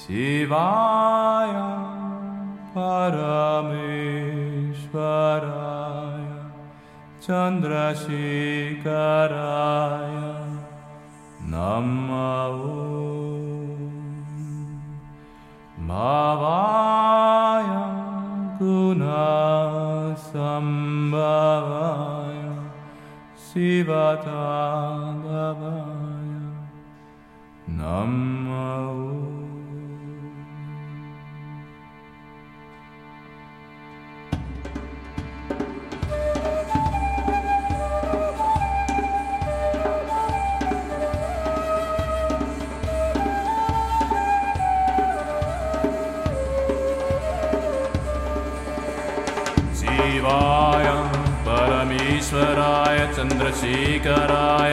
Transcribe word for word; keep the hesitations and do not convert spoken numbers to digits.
Shivaya Parameshwaraya Chandrasekharaya Namo Bhavaya Gunasambhavaya Sivatadavaya Namo. Shivaya Parameshwaraya Chandrasekharaya